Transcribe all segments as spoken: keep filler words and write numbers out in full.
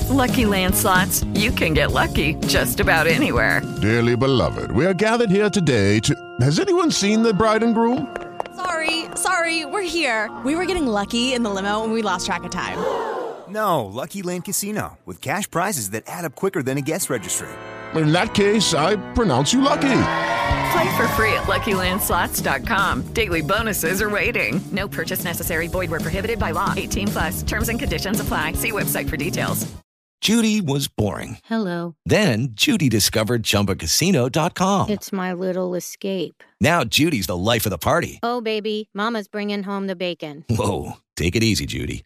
Lucky Land Slots, you can get lucky just about anywhere. Dearly beloved, we are gathered here today to... Has anyone seen the bride and groom? Sorry, sorry, we're here. We were getting lucky in the limo and we lost track of time. No, Lucky Land Casino, with cash prizes that add up quicker than a guest registry. In that case, I pronounce you lucky. Play for free at Lucky Land Slots dot com. Daily bonuses are waiting. No purchase necessary. Void where prohibited by law. eighteen plus. Terms and conditions apply. See website for details. Judy was boring. Hello. Then Judy discovered Chumba Casino dot com. It's my little escape. Now Judy's the life of the party. Oh, baby, mama's bringing home the bacon. Whoa, take it easy, Judy.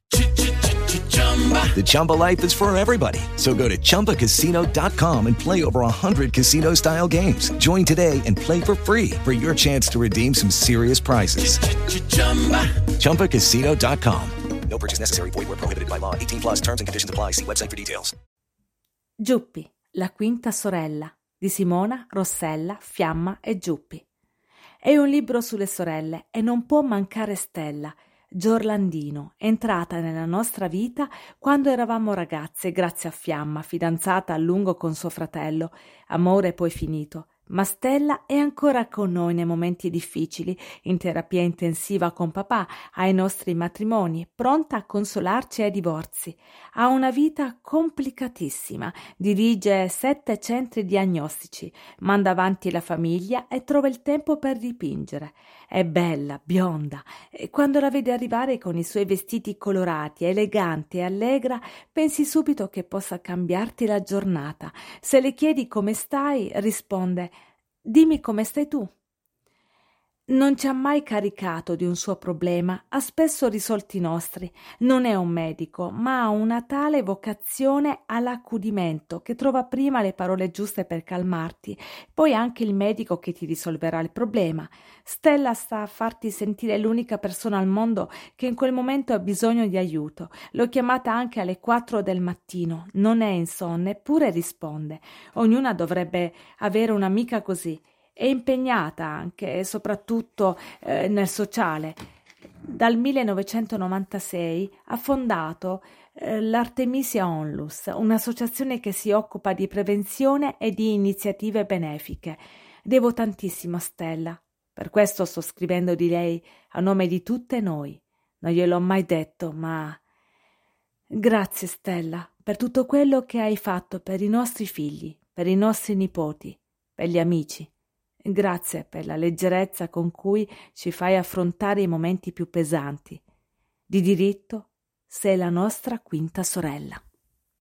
The Chumba life is for everybody. So go to Chumba Casino dot com and play over one hundred casino-style games. Join today and play for free for your chance to redeem some serious prizes. Chumba Casino dot com. No purchase necessary. Void where prohibited by law. eighteen plus terms and conditions apply. See website for details. Giuppi, la quinta sorella di Simona, Rossella, Fiamma e Giuppi. È un libro sulle sorelle e non può mancare Stella, Giorlandino, entrata nella nostra vita quando eravamo ragazze grazie a Fiamma, fidanzata a lungo con suo fratello, amore poi finito. Ma Stella è ancora con noi nei momenti difficili, in terapia intensiva con papà, ai nostri matrimoni, pronta a consolarci ai divorzi. Ha una vita complicatissima, dirige sette centri diagnostici, manda avanti la famiglia e trova il tempo per dipingere. È bella, bionda, e quando la vedi arrivare con i suoi vestiti colorati, elegante e allegra, pensi subito che possa cambiarti la giornata. Se le chiedi come stai, risponde: dimmi come stai tu. Non ci ha mai caricato di un suo problema, ha spesso risolti i nostri. Non è un medico, ma ha una tale vocazione all'accudimento che trova prima le parole giuste per calmarti, poi anche il medico che ti risolverà il problema. Stella sta a farti sentire l'unica persona al mondo che in quel momento ha bisogno di aiuto. L'ho chiamata anche alle quattro del mattino, non è insonne, eppure risponde. Ognuna dovrebbe avere un'amica così. È impegnata anche e soprattutto eh, nel sociale. Dal millenovecentonovantasei ha fondato eh, l'Artemisia Onlus, un'associazione che si occupa di prevenzione e di iniziative benefiche. Devo tantissimo a Stella, per questo sto scrivendo di lei a nome di tutte noi. Non gliel'ho mai detto, ma... Grazie Stella per tutto quello che hai fatto per i nostri figli, per i nostri nipoti, per gli amici. Grazie per la leggerezza con cui ci fai affrontare i momenti più pesanti. Di diritto sei la nostra quinta sorella.